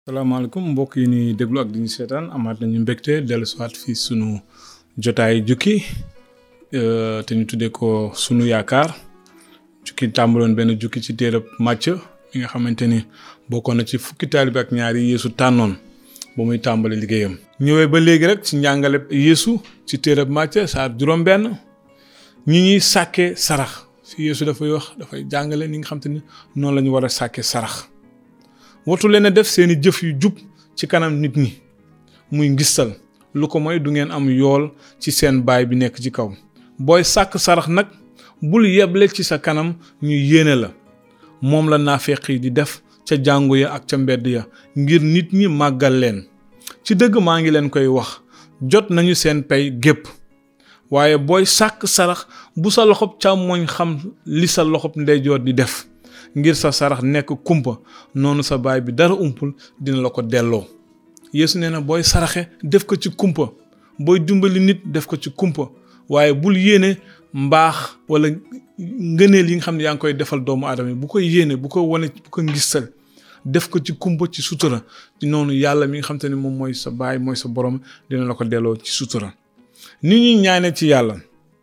salaamaaleykum mbokk yi ni déglu ak di ñu seetaan amaat nañu mbégte dellu siwaat fii sunu jotaay jukki te ñu tuddee ko sunu yaakaar jukki tàmbaloon benn jukki ci téereb Màcc mi nga xamante ni bokkoon na ci fukki taalibe ak ñaar yi Yeesu tànnoon ba muy tàmbali liggéeyam. ñëwee ba léegi rek ci njàngale Yeesu ci téereb Màcc saar juróom-benn ñi ñuy sàkkee sarax fi Yeesu dafay jàngale ni nga xamante ni noonu la ñu war a sàkkee sarax. watu leen a def seeni jëf yu jub ci kanam nit ñi muy ngistal lu ko mooy du ngeen am yool ci seen baay bi nekk ci kaw booy sàkk sarax nag bul yeble ci sa kanam ñu yéene la moom la naafeq yi di def ca jàngu ya ak ca mbedd ya ngir nit ñi màggal leen ci dëgg maa ngi leen koy wax jot nañu seen pay gépp waaye booy sàkk sarax bu sa loxob càmmooñ xam li sa loxob ndeyjoor di def ngir sa sarax nekk kumpa noonu sa baay bi dara umpul dina la ko delloo. Yeesu nee na booy saraxe def ko ci kumpa booy dimbali nit def ko ci kumpa waaye bul yéene mbaax wala ngëneel yi nga xam ne yaa ngi koy defal doomu aadama yi bu ko yéene bu ko wane bu ko ngistal def ko ci kumpa ci sutura ci noonu yàlla mi nga xam te ne moom mooy sa baay mooy sa borom dina la ko delloo ci sutura. ni ñuy ñaane ci yàlla.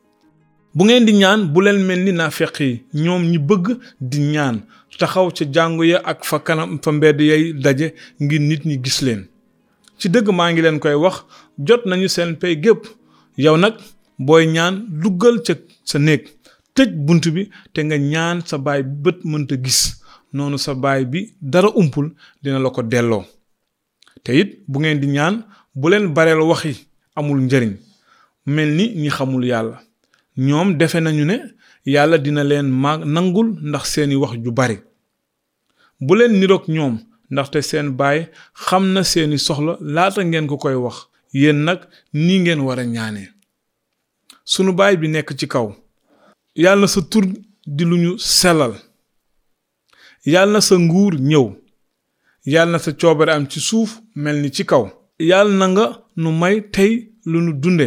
bu ngeen di ñaan bu leen mel ni naafeq yi ñoom ñi bëgg di ñaan taxaw ca jàngu ya ak fa kanam fa mbedd yay daje ngir nit ñi gis leen ci dëgg maa ngi leen koy wax jot nañu seen pay gépp yow nag booy ñaan duggal ca sa néeg tëj bunt bi te nga ñaan sa baay bi bët mënta gis noonu sa baay bi dara umpul dina la ko delloo te it bu ngeen di ñaan bu leen bareel waxi amul njëriñ mel ni ñi xamul yàlla ñoom defe nañu ne yàlla dina leen nangul ndax seeni wax ju bari bu leen niroog ñoom ndaxte seen baay xam na seeni soxla laata ngeen ko koy wax yéen nag nii ngeen war a ñaanee sunu baay bi nekk ci kaw yàlla na sa tur di lu ñu sellal yàlla na sa nguur ñëw yàlla na sa coobare am ci suuf mel ni ci kaw yàlla na nga nu may tey lu nu dunde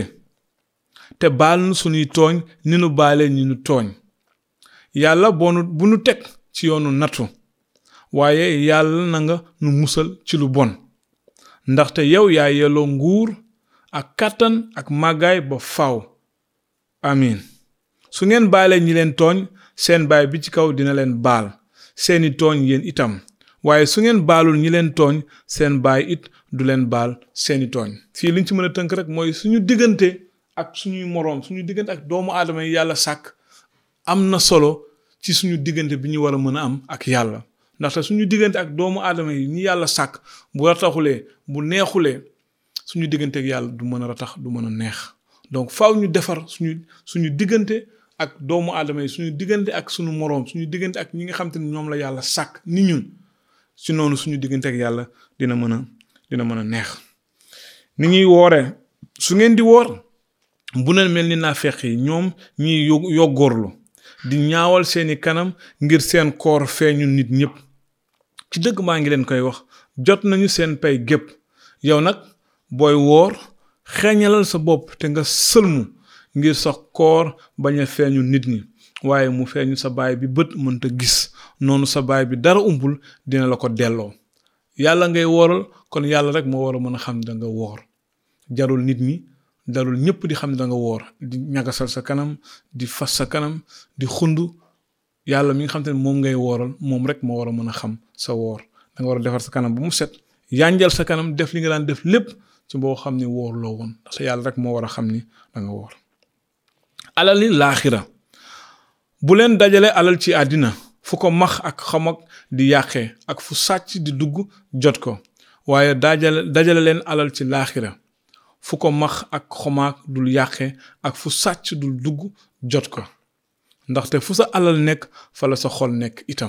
te baal nu sunuy tooñ ni nu baale ñi nu tooñ yàlla bu nu teg ci yoonu nattu waaye yàlla na nga nu musal ci lu bon ndaxte yow yaa yelloo nguur ak kàttan ak màggaay ba faaw amiin su ngeen baalee ñi leen tooñ seen baay bi ci kaw dina leen baal seeni tooñ yéen itam waaye su ngeen baalul ñi leen tooñ seen baay it du leen baal seeni tooñ fii liñ ci mën a tënk rek mooy suñu diggante ak suñuy moroom suñu diggante ak doomu aadama yi yàlla sàkk am na solo ci suñu diggante bi ñu war a mën a am ak yàlla ndaxte suñu diggante ak doomu aadama yi ñi yàlla sàkk bu rataxulee bu neexulee suñu diggante ak yàlla du mën a ratax du mën a neex donc faaw ñu defar suñu diggante ak doomu aadama yi suñu diggante ak suñu moroom suñu diggante ak ñi nga xam te ne ñoom la yàlla sàkk ni ñun si noonu suñu diggante ak yàlla dina mën a neex ni ñuy wooree su ngeen di woor bu leen mel ni naafeq yi ñoom ñiy yoggoorlu di ñaawal seeni kanam ngir seen koor feeñu nit ñëpp ci dëgg maa ngi leen koy wax jot nañu seen pay gépp yow nag booy woor xeeñalal sa bopp te nga sëlmu ngir sa koor bañ a feeñu nit ñi waaye mu feeñu sa baay bi bët mënta gis noonu sa baay bi dara umpul dina la ko delloo yàlla ngay wooral kon yàlla rek moo war a mën a xam ne danga woor jarul nit ñi darul ñëpp di xam ne da nga woor di ñagasal sa kanam di fas sa kanam di xund yàlla mi nga xam te ne moom ngay wooral moom rek moo war a mën a xam sa woor da nga war a defar sa kanam ba mu set yanjal sa kanam def li nga daan def lépp ci boo xam ni woor loo woon ndax yàlla rek moo war a xam ni da nga woor alali laaxira bu leen dajale alal ci àddina fu ko max ak xamag di yàqee ak fu sàcc di dugg jot ko waaye dajale leen alal ci laaxira fu ko max ak xomaag dul yàqe ak fu sàcc dul dugg jot ko ndaxte fu sa alal nekk fa la sa xol nekk itam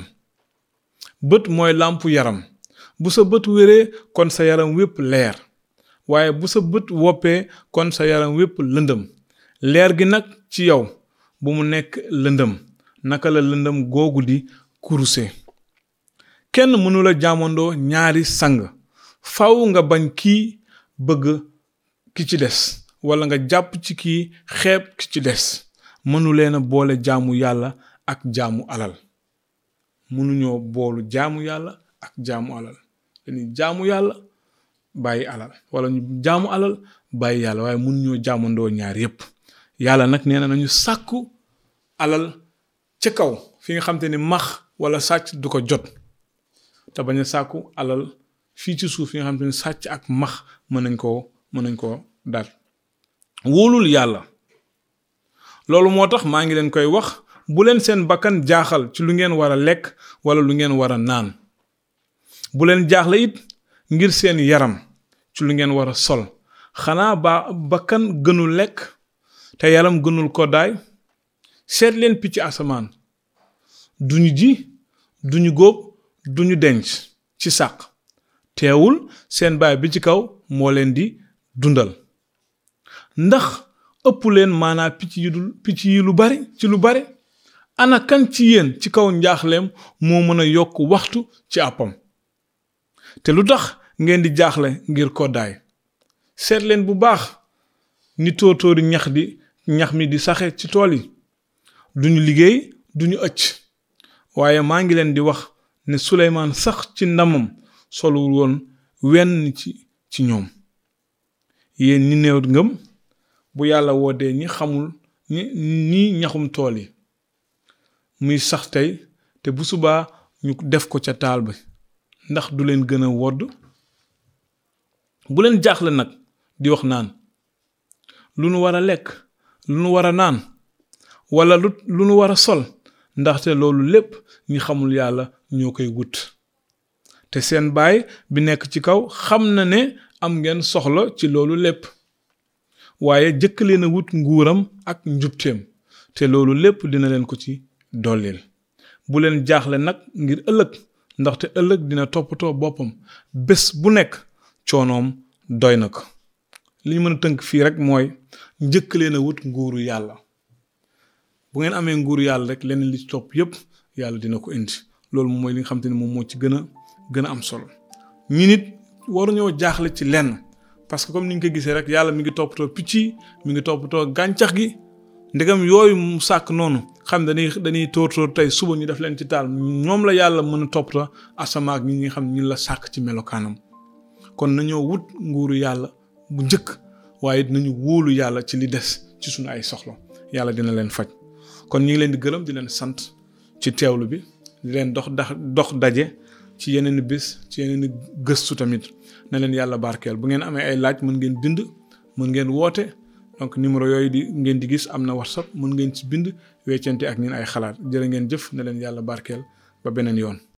bët mooy làmpu yaram bu sa bët wéree kon sa yaram wépp leer waaye bu sa bët woppee kon sa yaram wépp lëndëm leer gi nag ci yow bu mu nekk lëndëm naka la lëndëm googu di kuruse kenn mënula jaamandoo ñaari sang faw nga bañ kii bëgg ki ci des wala nga jàpp ci kii xeeb ki ci des mënu leen a boole jaamu yàlla ak jaamu alal mënuñoo boolu jaamu yàlla ak jaamu alal dañuy jaamu yàlla bàyyi alal wala ñu jaamu alal bàyyi yàlla waaye mun ñoo jaamandoo ñaar yépp yàlla nag nee na nañu sàkku alal ca kaw fi nga xam te ni max wala sàcc du ko jot te bañ a sàkku alal fii ci suuf fi nga xam te ni sàcc ak max mën nañ koo dar wóolul yàlla loolu moo tax maa ngi leen koy wax bu leen seen bakkan jaaxal ci lu ngeen war a lekk wala lu ngeen war a naan bu leen jaaxle it ngir seen yaram ci lu ngeen war a sol xanaa bakkan gënul lekk te yaram gënul koddaay seet leen picc asamaan duñu ji duñu góob duñu denc ci sàq teewul seen baay bi ci kaw moo leen di dundal ndax ëpp leen maanaa picc yi lu bari ana kan ci yéen ci kaw njaaxleem moo mën a yokk waxtu ci àppam te lu tax ngeen di jaaxle ngir koddaay seet leen bu baax ni tóotóori ñax mi di saxe ci tool yi duñu liggéey duñu ëcc waaye maa ngi leen di wax ne Suleymaan sax ci ndamam solul woon wenn ci ñoom yéen ñi néew ngëm bu yàlla woodee ñi xamul ñi ñaxum tool yi muy sax tey te bu subaa ñu def ko ca taal bi ndax du leen gën a wodd bu leen jaaxle nag di wax naan lu nu war a lekk lu nu war a naan wala lu nu war a sol ndaxte loolu lépp ñi xamul yàlla ñoo koy wut te seen baay bi nekk ci kaw xam na ne am ngeen soxla ci loolu lépp waaye jëkk leen a wut nguuram ak njubteem te loolu lépp dina leen ko ci dollil bu leen jaaxle nag ngir ëllëg ndaxte ëllëg dina toppatoo boppam bés bu nekk coonoom doy na ko li ñu mën a tënk fii rek mooy njëkk leen a wut nguuru yàlla bu ngeen amee nguuru yàlla rek leneen li ci topp yépp yàlla dina ko indi loolu mooy li nga xam te ne moom moo ci gën a am solo ñi nit waruñoo jaaxle ci lenn parce que comme ni ñu ko gisee rek yàlla mi ngi toppatoo picc yi mi ngi toppatoo gàncax gi ndegam yooyu mu sàkk noonu xam dañuy tóor tey suba ñu def leen ci taal ñoom la yàlla mën a toppatoo asamaak ñi nga xam ñu la sàkk ci melokaanam kon nañoo wut nguuru yàlla bu njëkk waaye nañu wóolu yàlla ci li des ci suñu ay soxla yàlla dina leen faj kon ñu ngi leen di gërëm di leen sant ci teewlu bi di leen dox daje ci yeneen bis ci yeneen gëstu tamit na leen yàlla barkeel bu ngeen amee ay laaj mën ngeen bind mën ngeen woote donc numéro yooyu ngeen di gis am na WhatsApp mën ngeen ci bind weccante ak ñun ay xalaat jërë ngeen jëf na leen yàlla barkeel ba beneen yoon